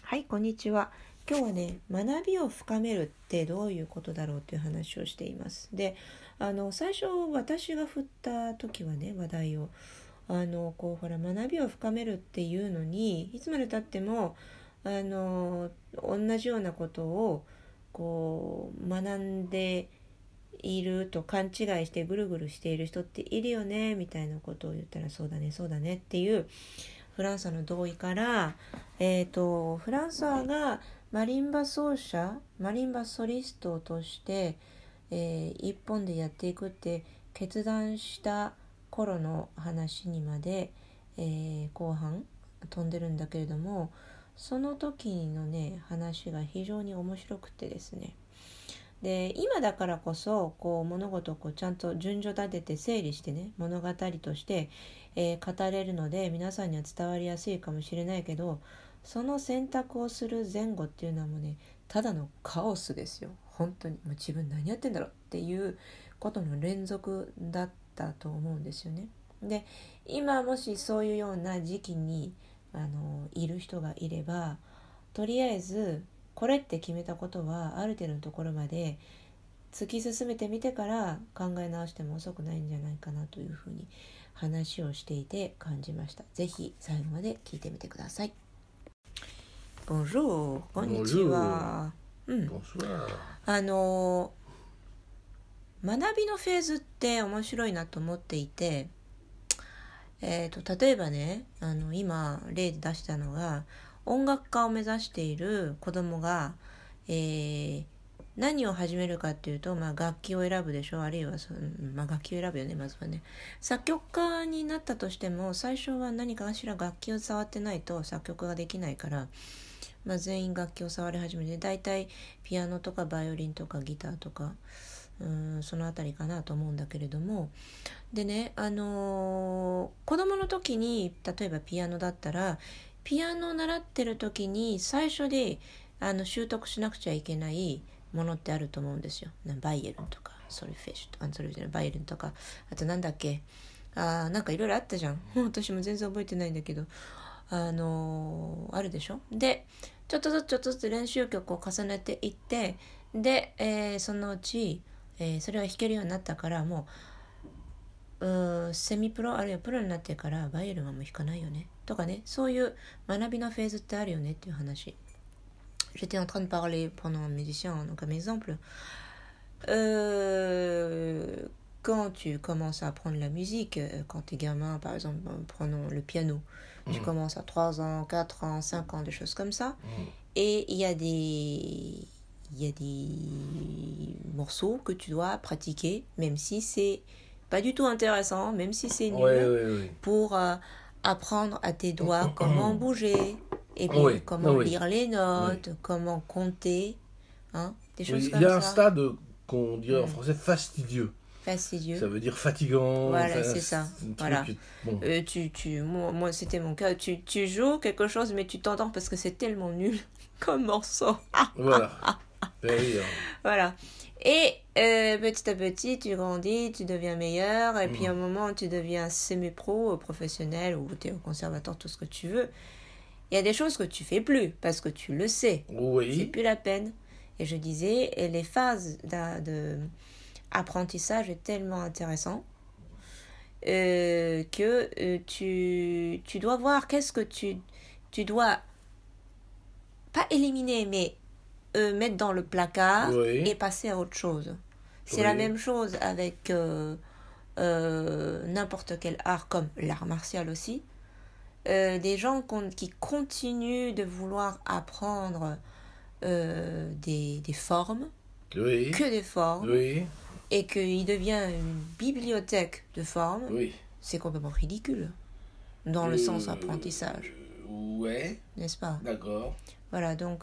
はい、こんにちは。今日はね、学びを深めるってどういうことだろうという話をしています。で、最初私が振った時はね、話題をほら学びを深めるっていうのにいつまでたっても同じようなことを学んでいると勘違いしてぐるぐるしている人っているよねみたいなことを言ったら、そうだねそうだねっていうフランサの同意から、フランサがマリンバ奏者、マリンバソリストとして、一本でやっていくって決断した頃の話にまで、後半飛んでるんだけれども、その時のね話が非常に面白くてですね、で今だからこそ物事をちゃんと順序立てて整理してね、物語として、語れるので皆さんには伝わりやすいかもしれないけど、その選択をする前後っていうのはもうね、ただのカオスですよ。本当にもう自分何やってんだろうっていうことの連続だったと思うんですよね。で今もしそういうような時期にいる人がいれば、とりあえずこれって決めたことはある程度のところまで突き進めてみてから考え直しても遅くないんじゃないかなというふうに話をしていて感じました。ぜひ最後まで聞いてみてください。Bonjour、こんにちは。学びのフェーズって面白いなと思っていて、例えばね、今例で出したのが、音楽家を目指している子供が、何を始めるかっていうと、楽器を選ぶでしょ。あるいは楽器を選ぶよね、まずはね。作曲家になったとしても最初は何かしら楽器を触ってないと作曲ができないから、全員楽器を触り始めて、だいたいピアノとかバイオリンとかギターとかそのあたりかなと思うんだけれども、でね、子供の時に例えばピアノだったら、ピアノを習ってる時に最初で習得しなくちゃいけないものってあると思うんですよ。バイエルンとかソルフェッシュとか、バイエルンとか、あとなんだっけ、なんかいろいろあったじゃん。私も全然覚えてないんだけど、あるでしょ。でちょっとずつ練習曲を重ねていって、で、そのうち、それは弾けるようになったから、もうセミプロあるいはプロになってからバイエルンはもう弾かないよねとかね、そういう学びのフェーズってあるよねっていう話。J'étais en train de parler pendant un musicien, donc un exemple. Quand tu commences à apprendre la musique, quand tu es gamin, par exemple, prenons le piano, tu commences à 3 ans, 4 ans, 5 ans, des choses comme ça. Et il y a des morceaux que tu dois pratiquer, même si c'est pas du tout intéressant, même si c'est nul, pour apprendre à tes doigts comment bouger, et puis comment lire les notes, comment compter, des choses comme ça. Il y a un stade qu'on dirait en français fastidieux. Fastidieux. Ça veut dire fatigant. Voilà, c'est ça. Voilà. Bon. Moi, c'était mon cas. Tu joues quelque chose, mais tu t'entends parce que c'est tellement nul comme morceau. Voilà. Voilà. Et petit à petit, tu grandis, tu deviens meilleur, et puis à un moment, tu deviens semi-pro, professionnel, ou tu es au conservatoire, tout ce que tu veux. Il y a des choses que tu fais plus parce que tu le sais. Oui. C'est plus la peine. Et je disais, et les phases d'apprentissage est tellement intéressant que tu dois voir qu'est-ce que tu dois pas éliminer, mais mettre dans le placard et passer à autre chose. C'est la même chose avec n'importe quel art, comme l'art martial aussi. Des gens qui continuent de vouloir apprendre des formes, que des formes, et qu'il devient une bibliothèque de formes, c'est complètement ridicule dans le sens apprentissage. Ouais. N'est-ce pas? D'accord. Voilà, donc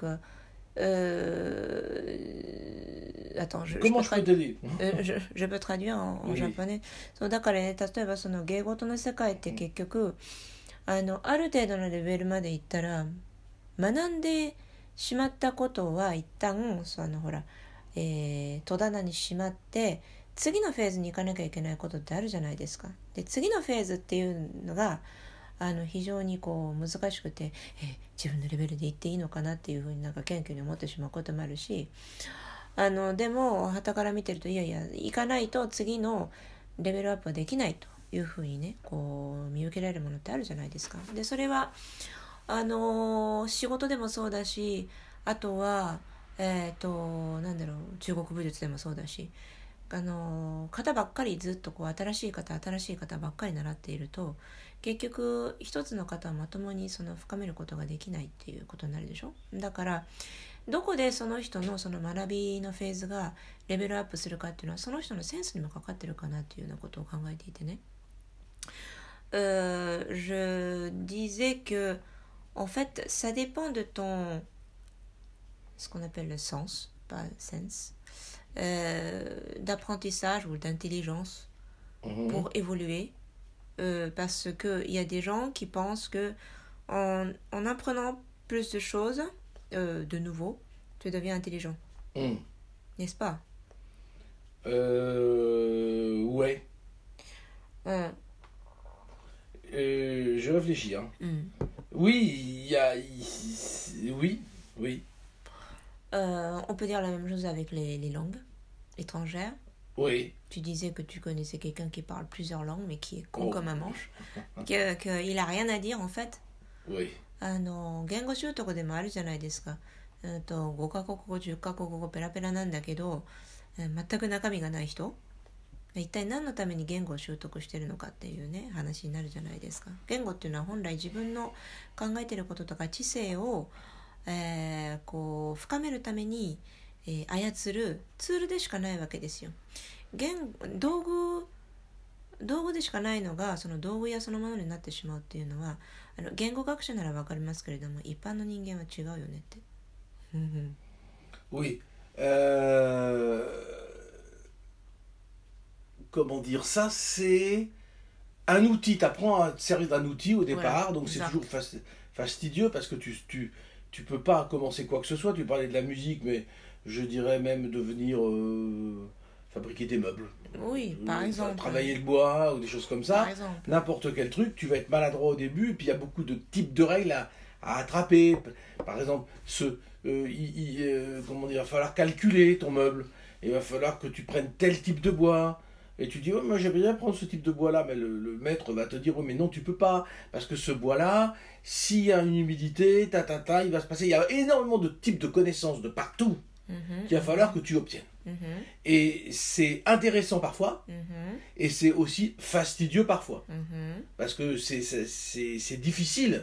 attends, Comment je peux t'aider? je peux traduire en japonais. そうだからね、例えばその芸事の世界って結局ある程度のレベルまでいったら学んでしまったことは一旦戸棚にしまって、次のフェーズに行かなきゃいけないことってあるじゃないですか。で次のフェーズっていうのが非常にこう難しくて、自分のレベルで言っていいのかなっていうふうになんか謙虚に思ってしまうこともあるし、でも傍から見てると、いやいや行かないと次のレベルアップはできないというふうにね、こう見受けられるものってあるじゃないですか。でそれは仕事でもそうだし、あとはなんだろう、中国武術でもそうだし、型ばっかりずっとこう新しい型ばっかり習っていると、結局一つの型をまともにその深めることができないっていうことになるでしょ。だからどこでその人のその学びのフェーズがレベルアップするかっていうのは、その人のセンスにもかかってるかなっていうようなことを考えていてね。Je disais que en fait ça dépend de ton ce qu'on appelle le sens, pas sense, d'apprentissage ou d'intelligence pour évoluer, parce que il y a des gens qui pensent que en apprenant plus de choses, de nouveau, tu deviens intelligent, n'est-ce pas? Ouais. Je réfléchis. Hein. Oui, oui, oui. On peut dire la même chose avec les langues étrangères. Oui. Tu disais que tu connaissais quelqu'un qui parle plusieurs langues, mais qui est con comme un manche. qu'il a rien à dire, en fait. Oui. 言語習得でもあるじゃないですか。5カ国語10カ国語ペラペラなんだけど、全く中身がない人、一体何のために言語を習得してるのかっていうね、話になるじゃないですか。言語っていうのは本来自分の考えてることとか知性を、こう深めるために、操るツールでしかないわけですよ。道具でしかないのがその道具やそのものになってしまうっていうのは、言語学者ならわかりますけれども、一般の人間は違うよねって。 Oui. Comment dire ça, c'est un outil. Tu apprends à te servir d'un outil au départ, donc c'est toujours fastidieux parce que tu peux pas commencer quoi que ce soit. Tu parlais de la musique, mais je dirais même de venir fabriquer des meubles. Oui, par exemple. Travailler le bois ou des choses comme ça. N'importe quel truc, tu vas être maladroit au début, et puis il y a beaucoup de types de règles à attraper. Par exemple, comment dire, il va falloir calculer ton meuble. Il va falloir que tu prennes tel type de bois. Et tu dis, oh, moi j'aimerais bien prendre ce type de bois-là, mais le maître va te dire, oh, mais non, tu peux pas, parce que ce bois-là, s'il y a une humidité, il va se passer. Il y a énormément de types de connaissances de partout qu'il va falloir que tu obtiennes. Et c'est intéressant parfois, et c'est aussi fastidieux parfois. Parce que c'est difficile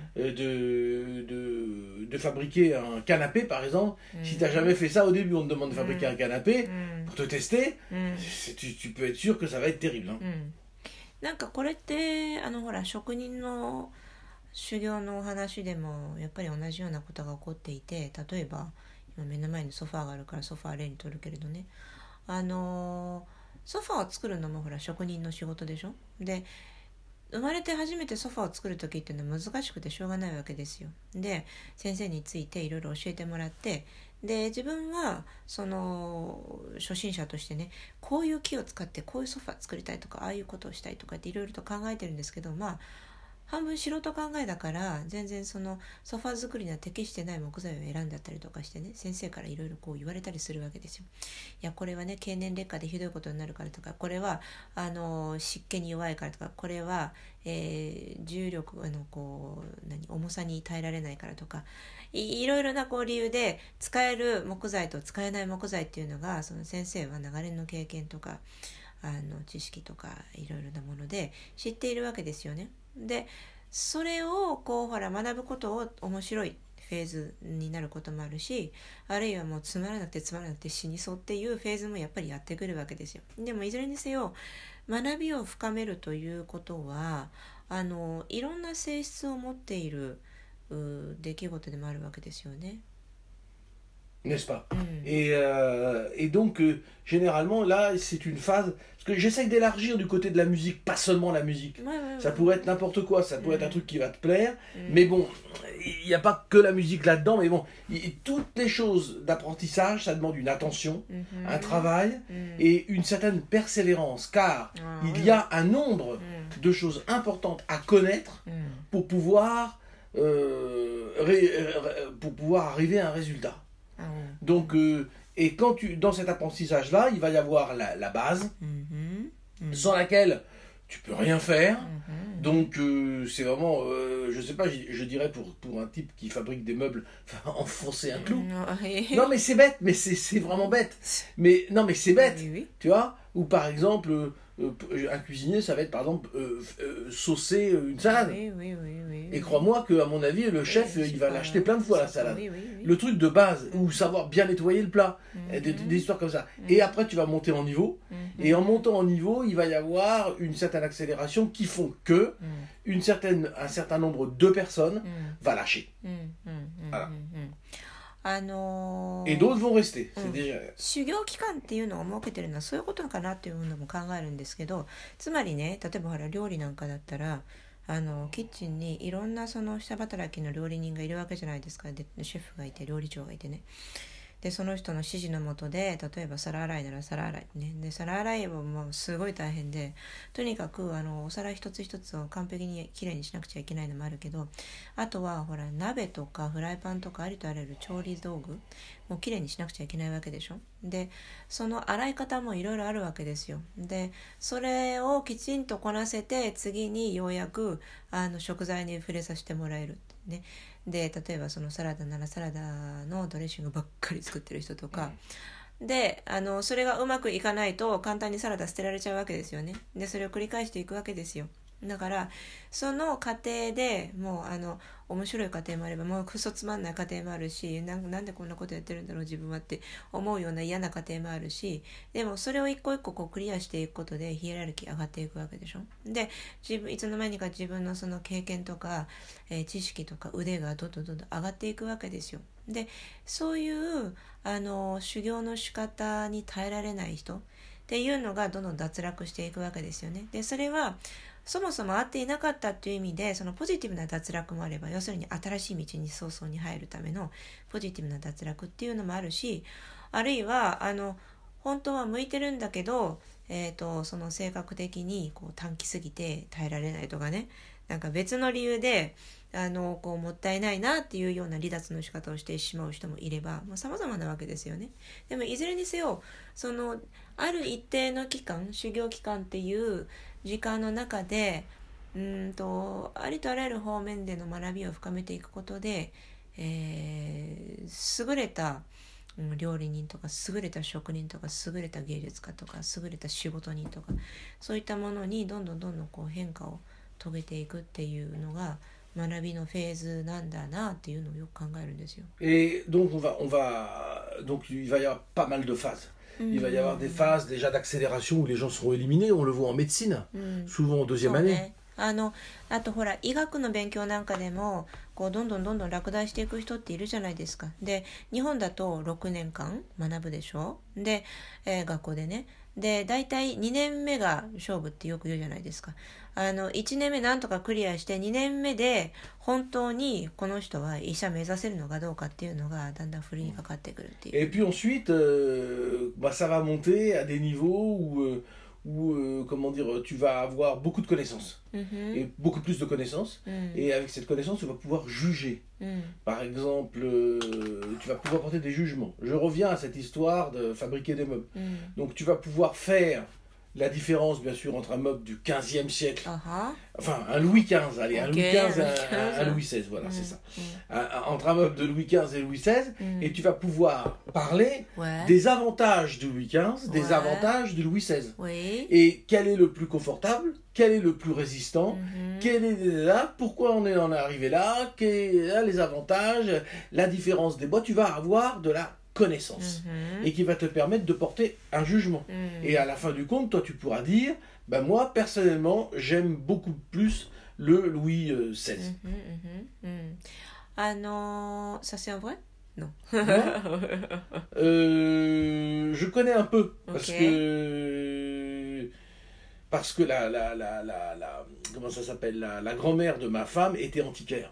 de fabriquer un canapé, par exemple. Si tu n'as jamais fait ça au début, on te demande de fabriquer un canapé pour te tester, tu peux être sûr que ça va être terrible. Hein. なんかこれってほら職人の修行のお話でもやっぱり同じようなことが起こっていて、例えば今目の前にソファーがあるからソファー例にとるけれどね、ソファーを作るのもほら職人の仕事でしょ。で生まれて初めてソファーを作る時っていうのは難しくてしょうがないわけですよ。で先生についていろいろ教えてもらって、で自分はその初心者としてね、こういう木を使ってこういうソファー作りたいとか、ああいうことをしたいとかっていろいろと考えてるんですけど、まあ半分素人考えだから全然そのソファー作りには適してない木材を選んだったりとかしてね、先生からいろいろこう言われたりするわけですよ。いやこれはね経年劣化でひどいことになるからとか、これは湿気に弱いからとか、これは、重力こう重さに耐えられないからとか、いろいろなこう理由で使える木材と使えない木材っていうのが、その先生は長年の経験とか知識とかいろいろなもので知っているわけですよね。でそれをこうほら学ぶことを面白いフェーズになることもあるし、あるいはもうつまらなくて死にそうっていうフェーズもやっぱりやってくるわけですよ。でもいずれにせよ学びを深めるということはいろんな性質を持っている出来事でもあるわけですよね。 n'est-ce pas? うん Et donc, généralement, là, c'est une phase... Parce que j'essaye d'élargir du côté de la musique, pas seulement la musique. Ouais, ouais, Ça ouais. pourrait être n'importe quoi, ça pourrait être un Mm. truc qui va te plaire. Mm. Mais bon, il n'y a pas que la musique là-dedans. Mais bon, toutes les choses d'apprentissage, ça demande une attention, Mhm. un travail Mm. et une certaine persévérance. Car Ah, il oui, y a un nombre Mm. de choses importantes à connaître Mm. pour pouvoir, pour pouvoir arriver à un résultat. Ah, ouais. Donc, et quand dans cet apprentissage-là, il va y avoir la base, Mhm. Mm. sans laquelle tu peux rien faire. Mhm. Donc, c'est vraiment, je sais pas, je dirais pour un type qui fabrique des meubles, enfoncer un clou. Mm. Non, mais c'est bête, mais c'est vraiment bête. Mais non, mais c'est bête, Oui, oui. tu vois. Ou par exemple, un cuisinier, ça va être par exemple saucer une salade. Oui, oui, oui, oui. Et crois-moi qu'à mon avis, le chef, Oui, il c'est va pas- l'acheter plein de fois la c'est pas- salade. Oui, oui, oui. Le truc de base, ou savoir bien nettoyer le plat, Mhm. des histoires comme ça. Et après, tu vas monter en niveau. Mhm. Et en montant en niveau, il va y avoir une certaine accélération qui font que Mm. un certain nombre de personnes Mm. va lâcher. うんうんうんあらうん。 Et d'autres vont rester. Mm. C'est déjà... 修行期間っていうのを設けてるのはそういうことかなっていうのも考えるんですけど、つまりね、例えばほら料理なんかだったらキッチンにいろんなその下働きの料理人がいるわけじゃないですか。でシェフがいて料理長がいてね、でその人の指示のもとで、例えば皿洗いなら皿洗いね、で皿洗いはもうすごい大変で、とにかくお皿一つ一つを完璧にきれいにしなくちゃいけないのもあるけど、あとはほら鍋とかフライパンとかありとあらゆる調理道具もうきれいにしなくちゃいけないわけでしょ。でその洗い方もいろいろあるわけですよ。でそれをきちんとこなせて、次にようやく食材に触れさせてもらえるってね。で例えばそのサラダならサラダのドレッシングばっかり作ってる人とか、でそれがうまくいかないと簡単にサラダ捨てられちゃうわけですよね。でそれを繰り返していくわけですよ。だからその過程でもう面白い過程もあれば、もうクソつまんない過程もあるし、なんでこんなことやってるんだろう自分はって思うような嫌な過程もあるし、でもそれを一個一個こうクリアしていくことでヒエラルキー上がっていくわけでしょ。でいつの間にか自分のその経験とか、知識とか腕がどんどんどんどん上がっていくわけですよ。でそういう修行の仕方に耐えられない人っていうのがどんどん脱落していくわけですよね。でそれはそもそも合っていなかったっていう意味で、そのポジティブな脱落もあれば、要するに新しい道に早々に入るためのポジティブな脱落っていうのもあるし、あるいは本当は向いてるんだけど、その性格的にこう短期すぎて耐えられないとかね、なんか別の理由でこうもったいないなっていうような離脱の仕方をしてしまう人もいれば、様々なわけですよね。でもいずれにせよ、そのある一定の期間、修行期間っていう時間の中でありとあらゆる方面での学びを深めていくことで、優れた料理人とか優れた職人とか優れた芸術家とか優れた仕事人とか、そういったものにどんどんこう変化を遂げていくっていうのが学びのフェーズなんだなっていうのをよく考えるんですよ。 Et donc, donc il va y avoir pas mal de phases. Il va y avoir des phases déjà d'accélération où les gens seront éliminés. On le voit en médecine, souvent en deuxième année. あとほら医学の勉強なんかでもこうどんどん落第していく人っているじゃないですか。で日本だと6年間学ぶでしょ。で、学校でね。で大体2年目が勝負ってよく言うじゃないですか。1年目なんとかクリアして2年目で本当にこの人は医者目指せるのかどうかっていうのがだんだんふるいにかかってくるっていう。 Et puis ensuite, ça va monter à des niveaux où comment dire, tu vas avoir beaucoup de connaissances. Et beaucoup plus de connaissances. Et avec cette connaissance, tu vas pouvoir juger. Par exemple, tu vas pouvoir porter des jugements. Je reviens à cette histoire de fabriquer des meubles. Donc tu vas pouvoir faire la différence, bien sûr, entre un meuble du 15e siècle, enfin un Louis XV, allez, un Louis XV et un Louis XVI, voilà, c'est ça. Entre un meuble de Louis XV et Louis XVI, et tu vas pouvoir parler des avantages du Louis XV, des avantages du Louis XVI. Et quel est le plus confortable, quel est le plus résistant, quel est là, pourquoi on en est arrivé là, quels sont les avantages, la différence des bois, tu vas avoir de la connaissance et qui va te permettre de porter un jugement. Et à la fin du compte, toi tu pourras dire, ben moi personnellement j'aime beaucoup plus le Louis XVI. Ça c'est un vrai? Non. Je connais un peu parce Ok. que comment ça s'appelle la grand-mère de ma femme était antiquaire.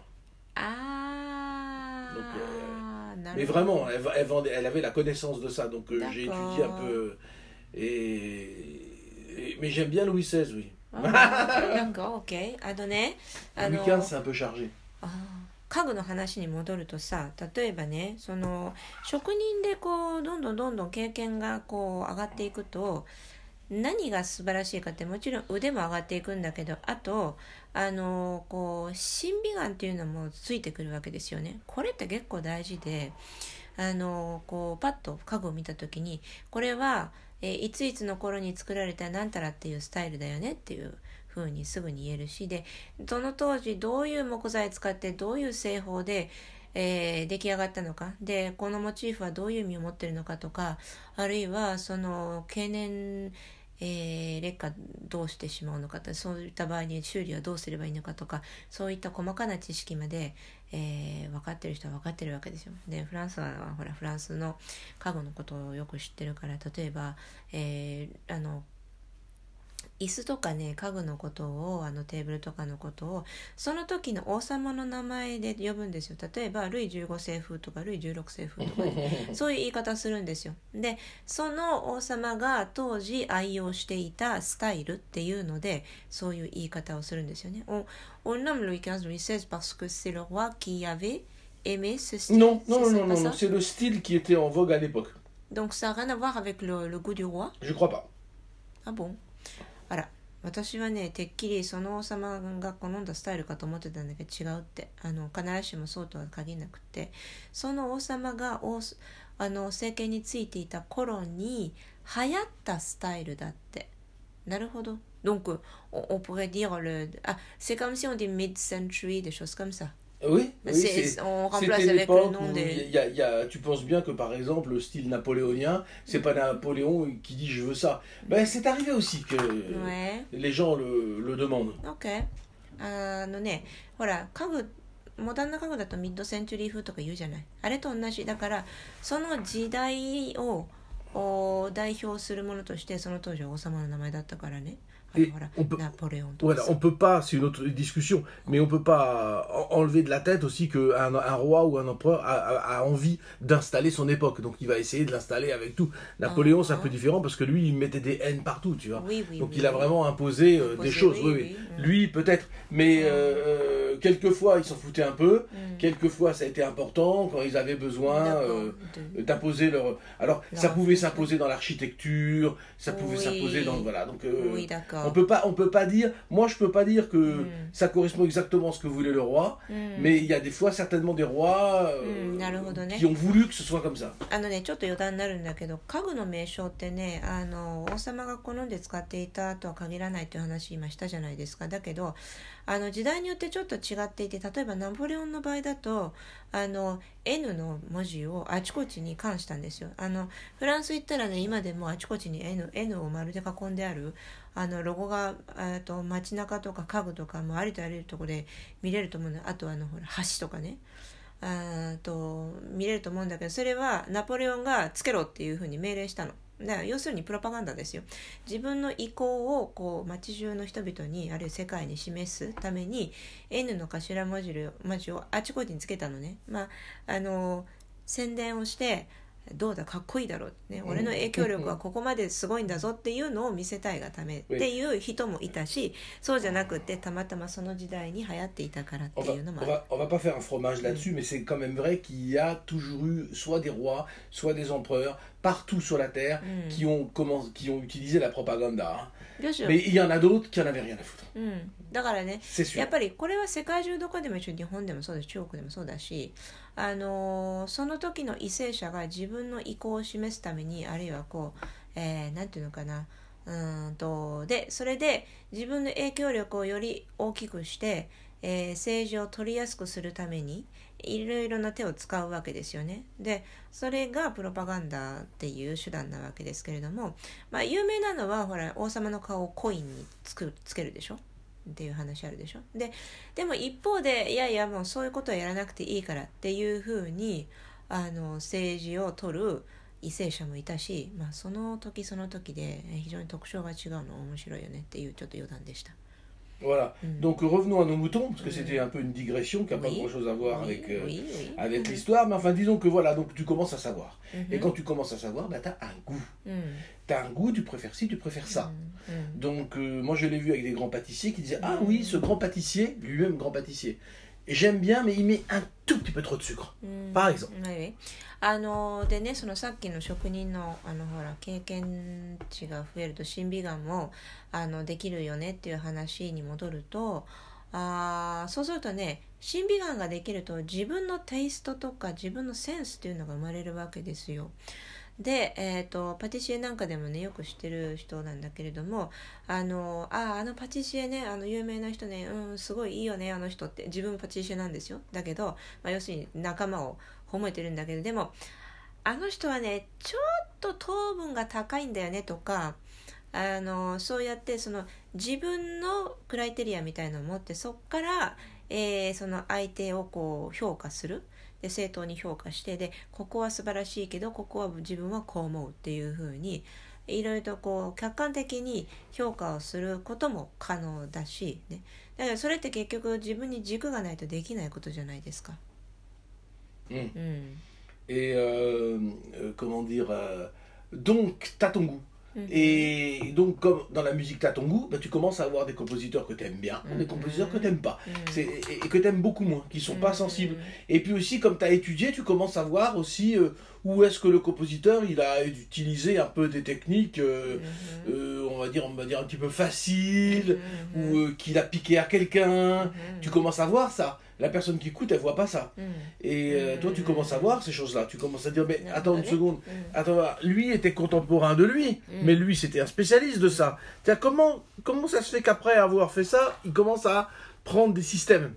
Donc, mais なるほど。 vraiment, elle avait la connaissance de ça. Donc j'ai étudié un D'accord. peu. Mais j'aime bien Louis XVI, oui. d'accord, OK。ね、 Louis XV, c'est un peu chargé. 家具の話に戻るとさ、例えばね、その職人でこうどんどんどんどん経験がこう上がっていくと、何が素晴らしいかってもちろん腕も上がっていくんだけど、あとこう審美眼っていうのもついてくるわけですよね。これって結構大事で、こうパッと家具を見た時に、これは、いついつの頃に作られたなんたらっていうスタイルだよねっていう風にすぐに言えるし、でその当時どういう木材使ってどういう製法で、出来上がったのか、でこのモチーフはどういう意味を持っているのかとか、あるいはその経年、劣化どうしてしまうのかと、そういった場合に修理はどうすればいいのかとか、そういった細かな知識まで、分かってる人は分かってるわけですよ。でフランスはほらフランスの家具のことをよく知ってるから、例えば、椅子とかね、家具のことをテーブルとかのことをその時の王様の名前で呼ぶんですよ。例えばルイ15世風とかルイ16世風とか、ね、そういう言い方するんですよ。でその王様が当時愛用していたスタイルっていうのでそういう言い方をするんですよね。On nomme Louis XV, Louis XVI parce que c'est le roi qui avait aimé ce style. Non, non, C'est non, non, pas non, non, ça? c'est le style qui était en vogue à l'époque. Donc ça n'a rien à voir avec le goût du roi? Je crois pas. Ah bon? あら、私はね、てっきりその王様が好んだスタイルかと思ってたんだけど違うって。必ずしもそうとは限らなくて、その王様が政権についていた頃に流行ったスタイルだって。なるほど。Donc on pourrait dire c'est comme si on dit mid-century, des choses comme ça. Oui, oui, On remplace c'était avec le l'époque nom où des... tu penses bien que par exemple le style napoléonien, c'est pas Napoléon qui dit je veux ça. Ben c'est arrivé aussi que Ouais. les gens le demandent. OK。ね、ほら、家具、モダンな家具だとミッドセンチュリー風とか言うじゃない。あれと同じ。だから、その時代を代表するものとして、その当時は王様の名前だったからね。 Voilà, on peut pas, c'est une autre discussion, mais on peut pas enlever de la tête aussi qu'un roi ou un empereur a envie d'installer son époque, donc il va essayer de l'installer avec tout. Napoléon, c'est un peu différent parce que lui, il mettait des haines partout, tu vois. Donc il a vraiment imposé des choses. Oui. Lui, peut-être, mais quelquefois, il s'en foutait un peu. Quelquefois, ça a été important quand ils avaient besoin d'imposer leur. Alors, ça pouvait s'imposer dans l'architecture, ça pouvait s'imposer dans voilà. Donc, oui, d'accord. on peut pas dire. Moi, je peux pas dire que ça correspond exactement à ce que voulait le roi, mais il y a des fois certainement des rois qui ont voulu que ce soit comme ça. ね、ちょっと余談になるんだけど、家具の名称ってね、王様が好んで使っていたとは限らないという話今したじゃないですか。だけど時代によってちょっと違っていて、例えばナポレオンの場合だとN の文字をあちこちに冠したんですよ。フランス行ったらね、今でもあちこちに N を丸で囲んであるロゴが街中とか家具とかもありとあらゆるところで見れると思うの。あとほら橋とかね見れると思うんだけど、それはナポレオンがつけろっていうふうに命令したの。だから要するにプロパガンダですよ。自分の意向をこう街中の人々にあるいは世界に示すために N の頭文字をあちこちにつけたのね。宣伝をしてどうだかっこいいだろう、ね、俺の影響力はここまですごいんだぞっていうのを見せたいがためっていう人もいたし、そうじゃなくてたまたまその時代に流行っていたからっていうのもある。 On va pas faire un fromage là-dessus, mais c'est quand même vrai qu'il y a toujours eu soit des rois, soit des empereurs partout sur la terre qui ont utilisé la propagande. Mais il y en a d'autres qui en avaient rien à foutre. だからね、やっぱりこれは世界中どこでも一緒、日本でもそうだし中国でもそうだし、その時の為政者が自分の意向を示すために、あるいはこう、なんていうのかな、でそれで自分の影響力をより大きくして、政治を取りやすくするためにいろいろな手を使うわけですよね。でそれがプロパガンダっていう手段なわけですけれども、有名なのはほら王様の顔をコインにつけるでしょっていう話あるでしょ。でも一方でいやいやもうそういうことはやらなくていいからっていうふうに政治を取る為政者もいたし、その時その時で非常に特徴が違うの面白いよねっていうちょっと余談でした。 Voilà. Donc revenons à nos moutons, parce que c'était un peu une digression qui n'a pas grand-chose à voir avec l'histoire. Mais enfin, disons que voilà, donc tu commences à savoir. Et quand tu commences à savoir, tu as un goût. Tu as un goût, tu préfères ci, tu préfères ça. Donc moi je l'ai vu avec des grands pâtissiers qui disaient, ah oui, ce grand pâtissier, lui-même grand pâtissier, j'aime bien, mais il met un tout petit peu trop de sucre, par exemple. でね、そのさっきの職人のほら経験値が増えると審美眼もできるよねっていう話に戻ると、そうするとね、審美眼ができると自分のテイストとか自分のセンスっていうのが生まれるわけですよ。で、パティシエなんかでもねよく知ってる人なんだけれども、あのパティシエね、有名な人ね、すごいいいよねあの人って、自分パティシエなんですよ。だけど、要するに仲間を褒めてるんだけど、でもあの人はねちょっと糖分が高いんだよねとか、そうやってその自分のクライテリアみたいなのを持って、そこから、その相手をこう評価する。で正当に評価して、でここは素晴らしいけどここは自分はこう思うっていう風にいろいろとこう客観的に評価をすることも可能だし、ね、だからそれって結局自分に軸がないとできないことじゃないですか。 Et comment dire, donc t'as ton goût. Et donc, comme dans la musique, tu as ton goût, tu commences à avoir des compositeurs que tu aimes bien, des compositeurs que tu n'aimes pas, et que tu aimes beaucoup moins, qui ne sont pas sensibles. Et puis aussi, comme tu as étudié, tu commences à voir aussi où est-ce que le compositeur il a utilisé un peu des techniques, on va dire un petit peu faciles, ou qu'il a piqué à quelqu'un. Tu commences à voir ça. La personne qui écoute, elle voit pas ça. Et toi, tu commences à voir ces choses-là. Tu commences à dire, mais attends une seconde. Attends, lui était contemporain de lui, mais lui, c'était un spécialiste de ça. Tiens, comment ça se fait qu'après avoir fait ça, il commence à prendre des systèmes,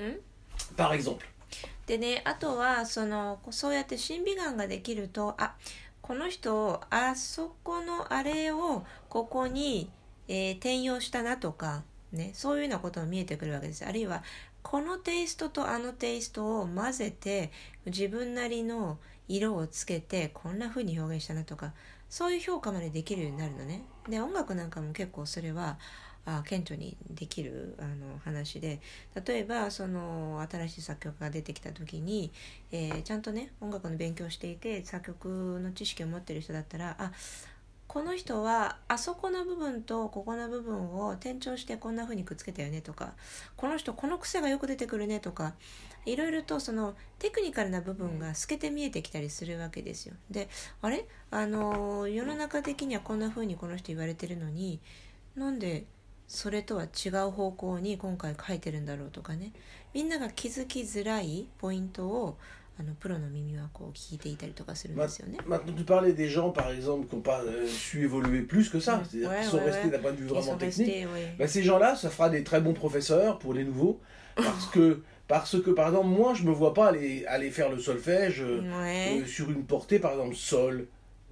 par exemple. でね、あとはそうやって審美眼ができると、この人あそこのあれをここに、転用したなとか、ね、そういうようなことが見えてくるわけです。あるいはこのテイストとあのテイストを混ぜて自分なりの色をつけてこんな風に表現したなとか、そういう評価までできるようになるのね。で音楽なんかも結構それは顕著にできる話で、例えばその新しい作曲が出てきた時に、ちゃんとね音楽の勉強していて作曲の知識を持っている人だったら、この人はあそこの部分とここの部分を転調してこんな風にくっつけたよねとか、この人この癖がよく出てくるねとか、いろいろとそのテクニカルな部分が透けて見えてきたりするわけですよ。で、世の中的にはこんな風にこの人言われてるのに、なんでそれとは違う方向に今回書いてるんだろうとかね、みんなが気づきづらいポイントをプロの耳はこう聞いていたりとかするんですよね。 Maintenant, tu parlais des gens, par exemple, qui n'ont pas su évoluer plus que ça, c'est-à-dire qui sont restés d'un point de vue vraiment technique. Ces gens-là, ça fera des très bons professeurs pour les nouveaux, parce que, par exemple, moi, je me vois pas aller faire le solfège sur une portée, par exemple, sol,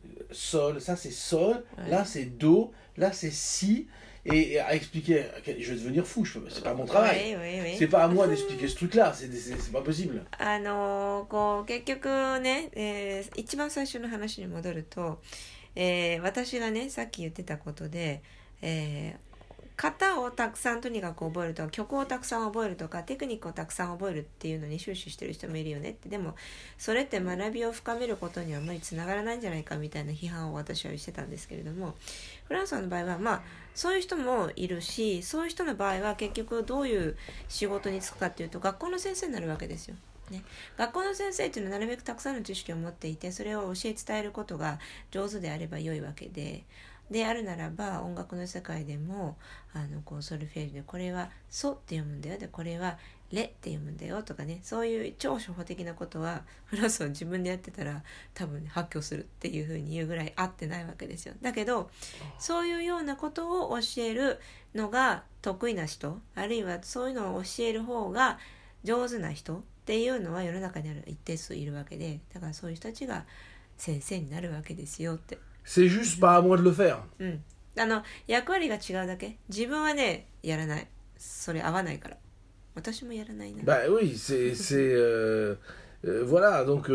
ça c'est sol, là c'est do, là c'est si. Et à expliquer, je vais devenir fou, c'est pas mon travail, c'est pas à moi d'expliquer ce truc-là, c'est pas possible. こう結局ね、一番最初の話に戻ると、私がねさっき言ってたことで、型をたくさんとにかく覚えるとか、曲をたくさん覚えるとか、テクニックをたくさん覚えるっていうのに終始してる人もいるよねって。でもそれって学びを深めることにはあまりつながらないんじゃないかみたいな批判を私はしてたんですけれども、フランスの場合はそういう人もいるし、そういう人の場合は結局どういう仕事に就くかっていうと、学校の先生になるわけですよ。ね、学校の先生っていうのはなるべくたくさんの知識を持っていて、それを教え伝えることが上手であれば良いわけで、あるならば音楽の世界でもこうソルフェージュでこれはソって読むんだよ、でこれはレって読むんだよとかね、そういう超初歩的なことはフランスは自分でやってたら多分、発狂するっていう風に言うぐらい合ってないわけですよ。だけどそういうようなことを教えるのが得意な人、あるいはそういうのを教える方が上手な人っていうのは世の中にある一定数いるわけで、だからそういう人たちが先生になるわけですよって。 C'est juste pas à moi de le faire. 役割が違うだけ。自分はねやらない。それ合わないから。私もやらないな。 Bah oui, voilà, donc,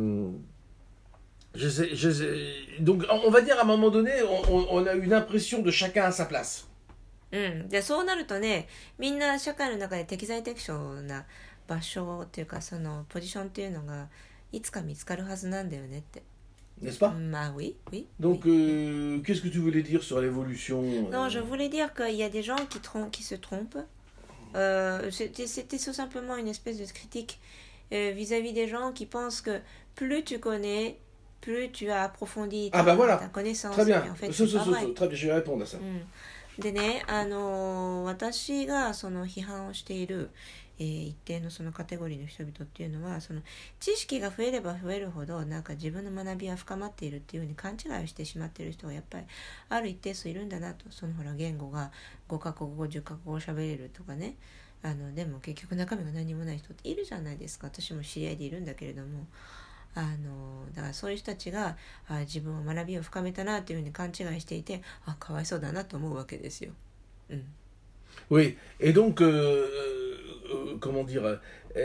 donc on va dire à un moment donné, on a une impression de chacun à sa place. でそうなるとね、みんな社会の中で適材適所な場所っていうか、そのポジションっていうのがいつか見つかるはずなんだよねって。 N'est-ce pas? Oui, oui. Donc, oui. qu'est-ce que tu voulais dire sur l'évolution? Non, je voulais dire qu'il y a des gens qui se trompent. C'était tout simplement une espèce de critique vis-à-vis des gens qui pensent que plus tu connais, plus tu as approfondi ta connaissance. Très bien. En fait, très bien, je vais répondre à ça. でね、私がその批判をしている、一定のそのカテゴリーの人々っていうのは、その知識が増えれば増えるほどなんか自分の学びは深まっているっていうふうに勘違いをしてしまっている人がやっぱりある一定数いるんだなと。そのほら言語が5カ国語10カ国語喋れるとかね、でも結局中身が何もない人っているじゃないですか。私も知り合いでいるんだけれども、だからそういう人たちが自分は学びを深めたなというふうに勘違いしていて、かわいそうだなと思うわけですよ。 Oui, et donc, comment dire,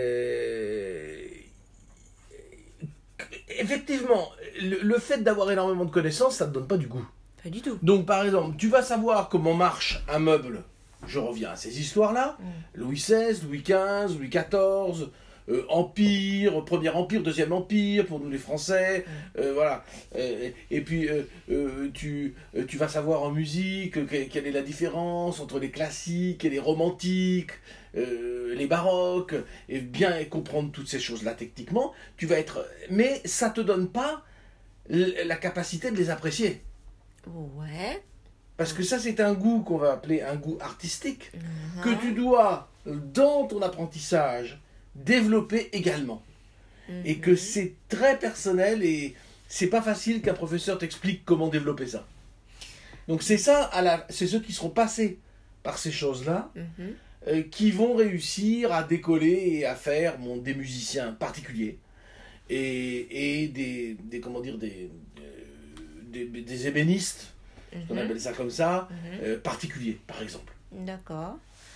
effectivement, le fait d'avoir énormément de connaissances, ça ne te donne pas du goût. Pas du tout. Donc, par exemple, tu vas savoir comment marche un meuble. Je reviens à ces histoires-là. Louis XVI, Louis XV, Louis XIV, Empire, Premier Empire, Deuxième Empire, pour nous les Français, voilà. Et puis, tu vas savoir en musique quelle est la différence entre les classiques et les romantiques, les baroques, et bien comprendre toutes ces choses-là techniquement, tu vas être... Mais ça ne te donne pas la capacité de les apprécier. Ouais. Parce que ça, c'est un goût qu'on va appeler un goût artistique, que tu dois, dans ton apprentissage, développer également. Et que c'est très personnel et c'est pas facile qu'un professeur t'explique comment développer ça. Donc c'est ça, c'est ceux qui seront passés par ces choses-là qui vont réussir à décoller et à faire des musiciens particuliers et des comment dire, des ébénistes, on appelle ça comme ça, particuliers, par exemple. D'accord.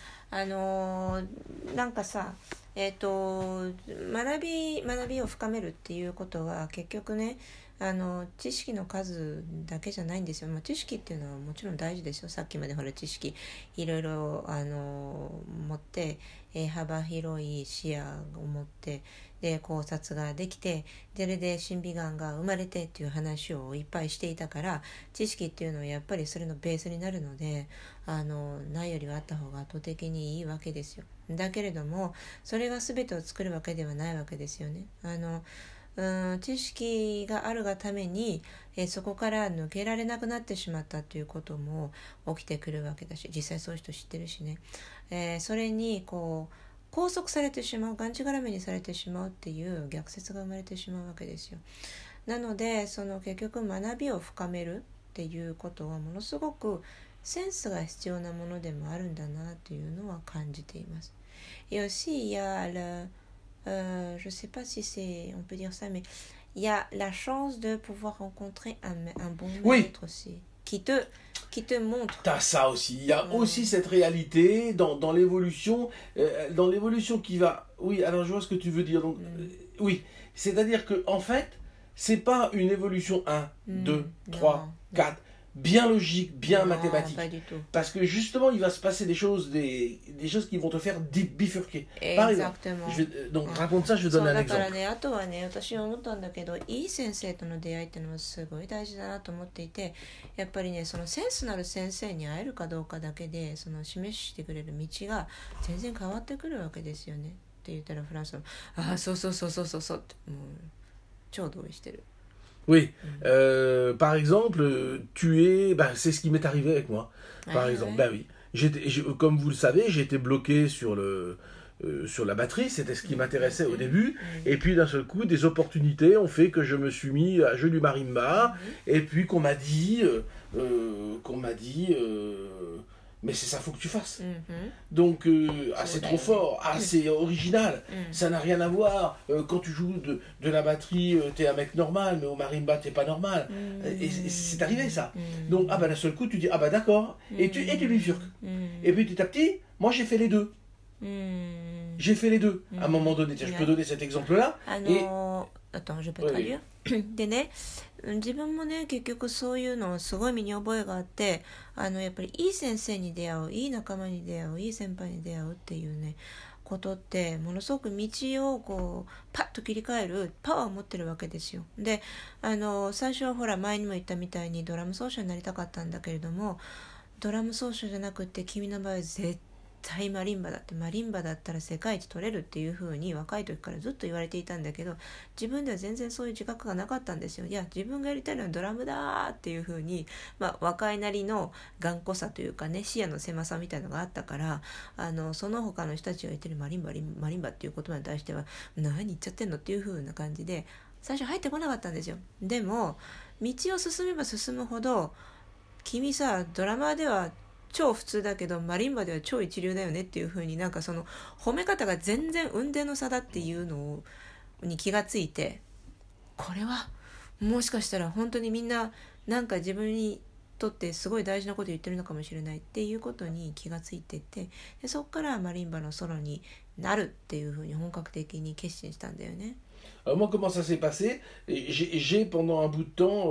なんかさ、学びを深めるっていうことは結局ね、知識の数だけじゃないんですよ。知識っていうのはもちろん大事ですよ。さっきまでほら知識いろいろ持って、幅広い視野を持ってで考察ができて、それで審美眼が生まれてっていう話をいっぱいしていたから、知識っていうのはやっぱりそれのベースになるので、ないよりはあった方が圧倒的にいいわけですよ。だけれどもそれが全てを作るわけではないわけですよね。知識があるがために、そこから抜けられなくなってしまったということも起きてくるわけだし、実際そういう人知ってるしね、それにこう拘束されてしまう、がんじがらめにされてしまうっていう逆説が生まれてしまうわけですよ。なのでその結局学びを深めるっていうことはものすごくセンスが必要なものでもあるんだなというのは感じています。Et aussi il y a je sais pas si on peut dire ça, mais il y a la chance de pouvoir rencontrer un bon maître aussi, qui te montre. T'as ça aussi. Il y a aussi cette réalité dans l'évolution, qui va. Oui, alors je vois ce que tu veux dire. Donc, oui, c'est-à-dire que en fait, c'est pas une évolution 1, 2, 3, 4. Bien logique, bien mathématique. Pas du tout. Parce que justement, il va se passer des choses qui vont te faire bifurquer. Exactement. Donc raconte ça, je te donne un exemple. だからね、あとはね、私は思ったんだけど、いい先生との出会いっていうのもすごい大事だなと思っていて、やっぱりね、そのセンスなる先生に会えるかどうかだけで、その示してくれる道が全然変わってくるわけですよね。って言ったらフランスの、そうってもう超同意してる。 Oui, par exemple, c'est ce qui m'est arrivé avec moi. Par exemple, oui. Comme vous le savez, j'étais bloqué sur la batterie, c'était ce qui m'intéressait au début. Et puis d'un seul coup, des opportunités ont fait que je me suis mis à jouer du marimba. Et puis qu'on m'a dit, mais c'est ça, faut que tu fasses. Donc, c'est trop fort, c'est original, ça n'a rien à voir. Quand tu joues de la batterie, t'es un mec normal, mais au marimba, t'es pas normal. Et c'est arrivé ça. Donc, d'un seul coup, tu dis, d'accord, et tu bifurques. Et puis petit à petit, moi j'ai fait les deux. j'ai fait les deux à un moment donné. Tiens, je peux donner cet exemple-là. Attends, je peux traduire. でね、自分もね、結局そういうのをすごい身に覚えがあって、やっぱりいい先生に出会う、いい仲間に出会う、いい先輩に出会うっていうね、ことってものすごく道をこうパッと切り替えるパワーを持ってるわけですよ。で、最初はほら前にも言ったみたいにドラム奏者になりたかったんだけれども、ドラム奏者じゃなくて君の場合は絶対マリンバだって、マリンバだったら世界一取れるっていう風に若い時からずっと言われていたんだけど、自分では全然そういう自覚がなかったんですよ。いや、自分がやりたいのはドラムだっていう風に、若いなりの頑固さというかね、視野の狭さみたいなのがあったから、その他の人たちが言ってるマリンバっていう言葉に対しては何言っちゃってんのっていう風な感じで最初入ってこなかったんですよ。でも道を進めば進むほど、君さドラマーでは超普通だけどマリンバでは超一流だよねっていう風に、なんかその褒め方が全然雲泥の差だっていうのに気がついて、これはもしかしたら本当にみんななんか自分にとってすごい大事なこと言ってるのかもしれないっていうことに気がついてて、でそこからマリンバのソロになるっていう風に本格的に決心したんだよね。 Alors moi, comment ça s'est passé? J'ai pendant un bout de temps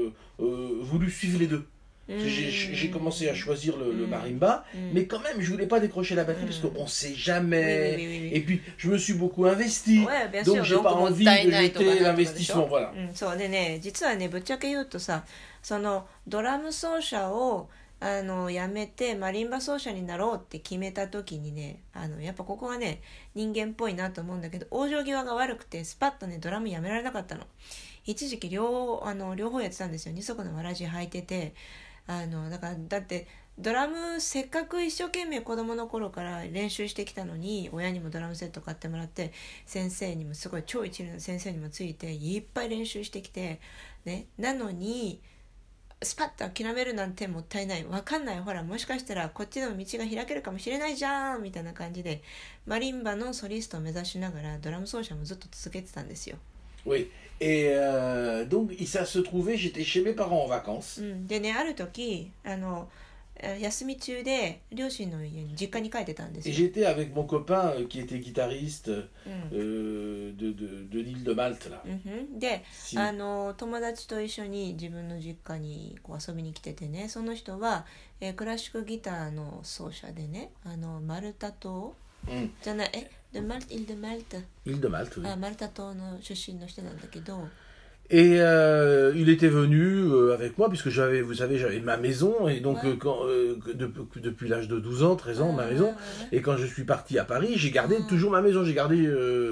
voulu suivre les deux. J'ai commencé à choisir le marimba, mais quand même, je voulais pas décrocher la batterie parce qu'on sait jamais. Oui. Et puis, je me suis beaucoup investi, Ouais, donc j'ai pas envie de jeter l'investissement. Voilà. そうでね、実はね、ぶっちゃけ言うとさ、そのドラム奏者をやめてマリンバ奏者になろうって決めた時にね、やっぱここがね人間っぽいなと思うんだけど、往生際が悪くてスパッとねドラムやめられなかったの。一時期両方やってたんですよ。二足のわらじ履いてて、だってドラムせっかく一生懸命子供の頃から練習してきたのに、親にもドラムセット買ってもらって、先生にもすごい超一流の先生にもついていっぱい練習してきてね、なのにスパッと諦めるなんてもったいない、わかんない、ほらもしかしたらこっちでも道が開けるかもしれないじゃんみたいな感じでマリンバのソリストを目指しながらドラム奏者もずっと続けてたんですよ。 Oui, et donc ça se trouvait, j'étais chez mes parents en vacances. でね、ある時休み中で両親の家に実家に帰ってたんですよ。 Et j'étais avec mon copain qui était guitariste de l'île de Malte là. で、友達と一緒に自分の実家にこう遊びに来ててね、その人は、クラシックギターの奏者でね、マルタ島、じゃない、イル・デ・マルタ。 イル・デ・マルタ、 マルタ島の出身の人なんだけど。 Et il était venu avec moi, puisque vous savez, j'avais ma maison, et donc depuis l'âge de 12 ans, 13 ans, ma maison, et quand je suis parti à Paris, j'ai gardé toujours ma maison, j'ai gardé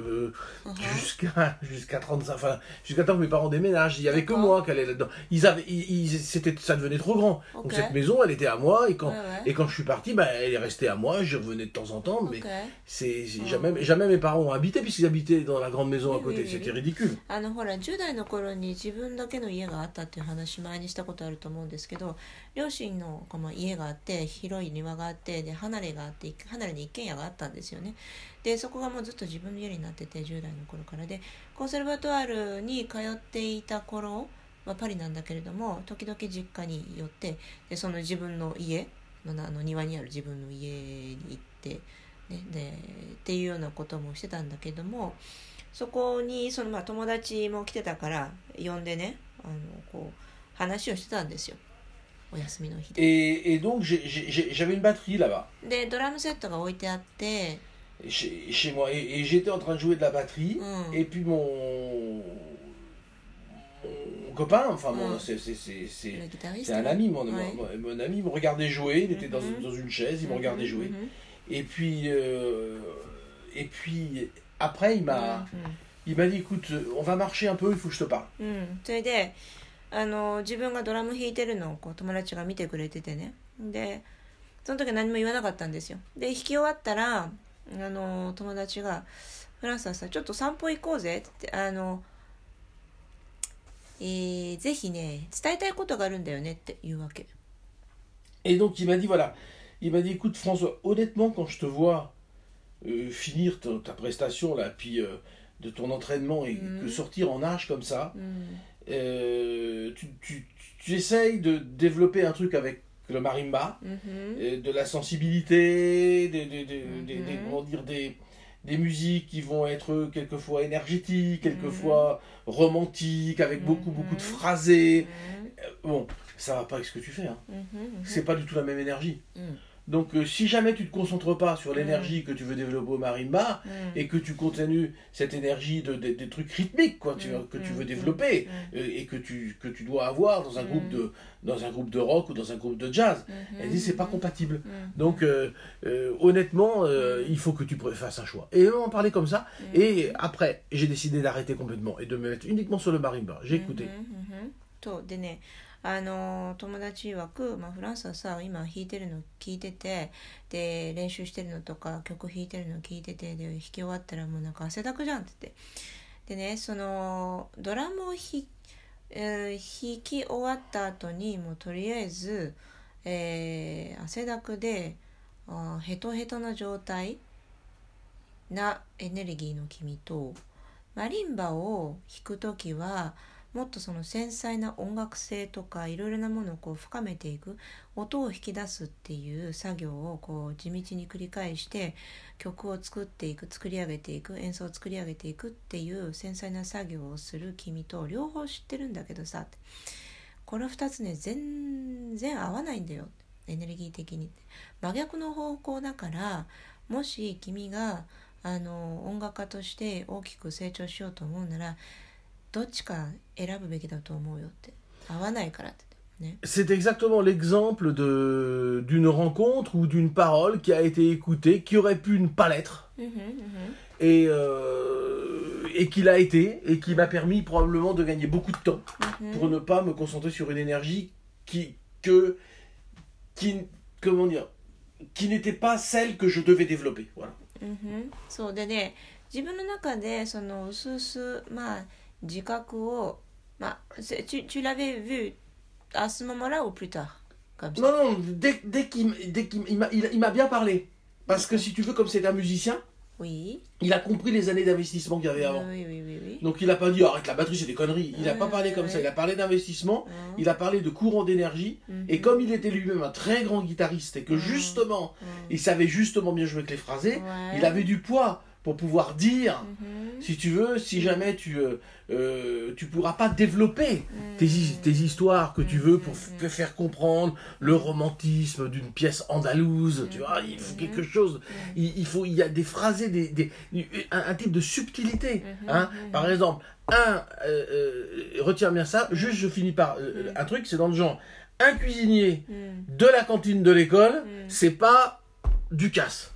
jusqu'à 35, enfin, jusqu'à temps que mes parents déménagent, il n'y avait que moi qui allait là-dedans. Ça devenait trop grand, donc cette maison, elle était à moi, et quand je suis parti, elle est restée à moi, j'y revenais de temps en temps, mais jamais mes parents ont habité, puisqu'ils habitaient dans la grande maison à côté, c'était ridicule. 10代の頃に自分だけの家があったっていう話前にしたことあると思うんですけど、両親の家があって広い庭があって、で離れに一軒家があったんですよね。でそこがもうずっと自分の家になってて、10代の頃からで、コンセルバトワールに通っていた頃はパリなんだけれども、時々実家に寄って、でその自分の家の庭にある自分の家に行って、ね、でっていうようなこともしてたんだけども、そこに友達も来てたから呼んでね、こう話をしてたんですよ、お休みの日で。 Et donc j'avais une batterie là-bas. でドラムセットが置いてあって、 chez moi, et j'étais en train de jouer de la batterie, et puis mon copain, enfin c'est un ami, mon ami me regardait jouer, il était dans une chaise, il me regardait jouer, et puis après il m'a dit, écoute, on va marcher un peu, il faut que je te parle. それで自分がドラム弾いてるのをこう友達が見てくれててね、でその時は何も言わなかったんですよ。で弾き終わったら友達がフランスはさ、ちょっと散歩行こうぜってぜひね伝えたいことがあるんだよねって言うわけ。 Et donc il m'a dit, voilà, il m'a dit, écoute François, honnêtement quand je te vois finir ta prestation là, puis de ton entraînement et que sortir en nage comme ça, tu essayes de développer un truc avec le marimba, de la sensibilité, comment dire, des musiques qui vont être quelquefois énergétiques, quelquefois romantiques, avec beaucoup de phrasés. Bon, ça va pas avec ce que tu fais. Hein. C'est pas du tout la même énergie. Donc si jamais tu ne te concentres pas sur l'énergie que tu veux développer au marimba et que tu continues cette énergie des trucs rythmiques quoi, que tu veux développer et que tu dois avoir dans un groupe de rock ou dans un groupe de jazz, elle dit c'est pas compatible. Donc honnêtement il faut que tu fasses un choix. Et on en parlait comme ça et après j'ai décidé d'arrêter complètement et de me mettre uniquement sur le marimba. J'ai écouté. でね、友達曰く、フランスはさ今弾いてるの聞いててで練習してるのとか曲弾いてるの聞いててで弾き終わったらもうなんか汗だくじゃんって言ってでねそのドラムを弾き終わった後にもうとりあえず、汗だくでヘトヘトな状態なエネルギーの君とマリンバを弾くときはもっとその繊細な音楽性とかいろいろなものをこう深めていく音を引き出すっていう作業をこう地道に繰り返して曲を作っていく作り上げていく演奏を作り上げていくっていう繊細な作業をする君と両方知ってるんだけどさこの2つね全然合わないんだよエネルギー的に真逆の方向だからもし君が音楽家として大きく成長しようと思うならどっちか選ぶべきだと思うよって合わないからってね。 C'est exactement l'exemple d'une rencontre ou d'une parole qui a été écoutée, qui aurait pu ne pas l'être, et qui l'a été, et qui m'a permis probablement de gagner beaucoup de temps pour ne pas me concentrer sur une énergie qui n'était pas celle que je devais développer. Voilà. そうでね、自分の中でその薄々自覚をtu l'avais vu à ce moment-là ou plus tard comme ça? Non, dès qu'il m'a bien parlé. Parce que si tu veux, comme c'est un musicien, oui. Il a compris les années d'investissement qu'il y avait avant. Oui. Donc il n'a pas dit arrête la batterie, c'est des conneries. Il n'a pas parlé comme ça. Il a parlé d'investissement, il a parlé de courant d'énergie. Et comme il était lui-même un très grand guitariste et que justement, il savait justement bien jouer avec les phrasés, il avait du poids pour pouvoir dire, si tu veux, si jamais tu pourras pas développer tes histoires que tu veux pour faire comprendre le romantisme d'une pièce andalouse, tu vois, il faut quelque chose, il y a des phrasés, un type de subtilité, hein. Par exemple, retiens bien ça, juste je finis par un truc, c'est dans le genre, un cuisinier de la cantine de l'école, c'est pas du casse.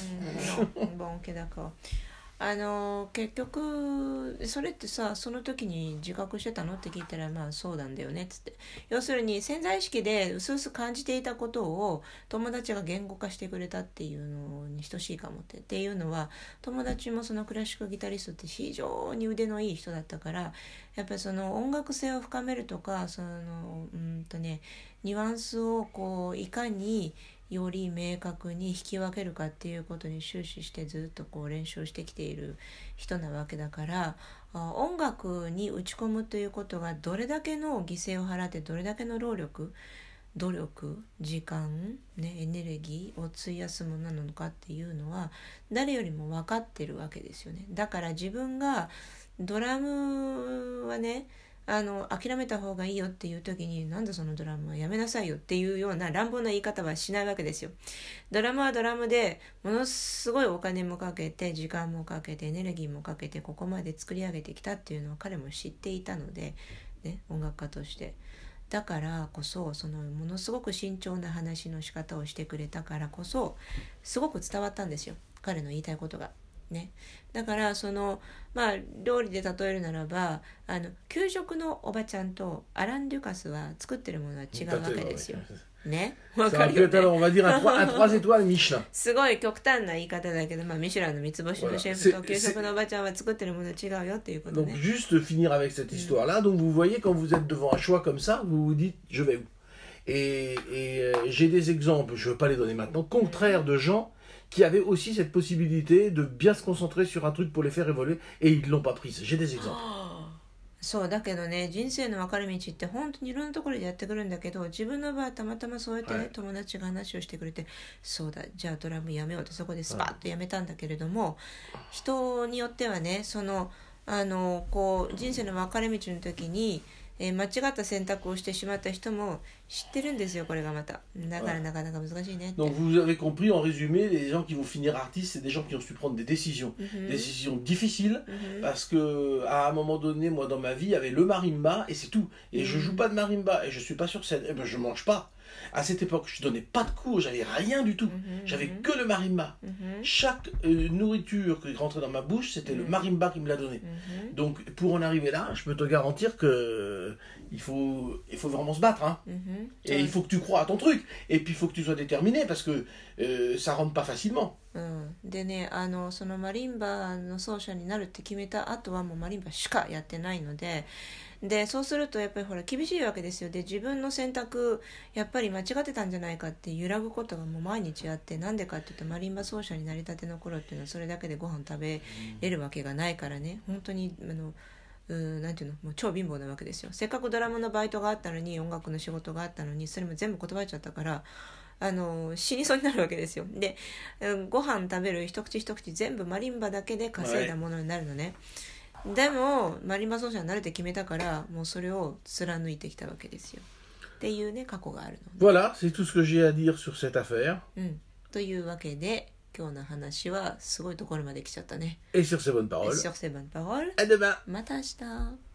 Bon, ok, d'accord. 結局それってさその時に自覚してたのって聞いたらそうなんだよねっつって要するに潜在意識でうすうす感じていたことを友達が言語化してくれたっていうのに等しいかもっていうのは友達もそのクラシックギタリストって非常に腕のいい人だったからやっぱりその音楽性を深めるとかそのニュアンスをこういかにより明確に引き分けるかっていうことに終始してずっとこう練習してきている人なわけだから音楽に打ち込むということがどれだけの犠牲を払ってどれだけの労力努力時間、エネルギーを費やすものなのかっていうのは誰よりも分かってるわけですよね。だから自分がドラムはね諦めた方がいいよっていう時になんでそのドラムはやめなさいよっていうような乱暴な言い方はしないわけですよ。ドラムはドラムでものすごいお金もかけて時間もかけてエネルギーもかけてここまで作り上げてきたっていうのを彼も知っていたので、音楽家としてだからこそそのものすごく慎重な話の仕方をしてくれたからこそすごく伝わったんですよ彼の言いたいことが。だからその料理で例えるならば給食のおばちゃんとアラン・デュカスは作ってるものは違うわけですよ。わかるよね。すごい極端な言い方だけど、ミシュランの三つ星のシェフと給食のおばちゃんは作ってるもの違うよっていうことね。 Donc juste finir avec cette histoire-là. Donc vous voyez quand vous êtes devant un choix comme ça, vous vous dites je vais où. Et j'ai des exemples, je ne veux pas les donner maintenant, contraires de gens qui avaient aussi cette possibilité de bien se concentrer sur un truc pour les faire évoluer et ils ne l'ont pas prise. J'ai des exemples. そうだけどね、人生の分かれ道って本当にいろんなところでやってくるんだけど、自分の場合はたまたまそうやってね、 はい友達が話をしてくれて、そうだじゃあドラムやめようってそこでスパッとやめたんだけれども、人によってはね、こう人生の分かれ道の時に、間違った選択をしてしまった人も知ってるんですよ、これがまた。だからなかなか難しいねって。 Donc vous avez compris, en résumé, les gens qui vont finir artistes, c'est des gens qui ont su prendre des décisions. Des décisions difficiles, parce que à un moment donné, moi dans ma vie, il y avait le marimba et c'est tout. Et je joue pas de marimba et je suis pas sur scène, et ben je mange pas. À cette époque, je donnais pas de cours, j'avais rien du tout. J'avais que le marimba. Chaque nourriture qui rentrait dans ma bouche, c'était le marimba qui me l'a donné. Donc pour en arriver là, je peux te garantir que il faut vraiment se battre, hein. Et il faut que tu crois à ton truc. Et puis il faut que tu sois déterminé parce que ça rentre pas facilement. でね、そのマリンバの奏者になるって決めた後はもうマリンバしかやってないので、そうするとやっぱりほら厳しいわけですよ。で自分の選択やっぱり間違ってたんじゃないかって揺らぐことがもう毎日あって、なんでかっていうとマリンバ奏者になりたての頃っていうのはそれだけでご飯食べれるわけがないからね、本当になんていうの、もう超貧乏なわけですよ。せっかくドラムのバイトがあったのに、音楽の仕事があったのに、それも全部断っちゃったから、死にそうになるわけですよ。で、ご飯食べる一口一口全部マリンバだけで稼いだものになるのね。でもマリンバ奏者になるって決めたから、もうそれを貫いてきたわけですよ。っていうね、過去があるの。 Voilà, c'est tout ce que j'ai à dire sur cette affaire. というわけで、今日の話はすごいところまで来ちゃったね。 Et sur ces bonnes paroles, Sur ces bonnes paroles, à demain. また明日。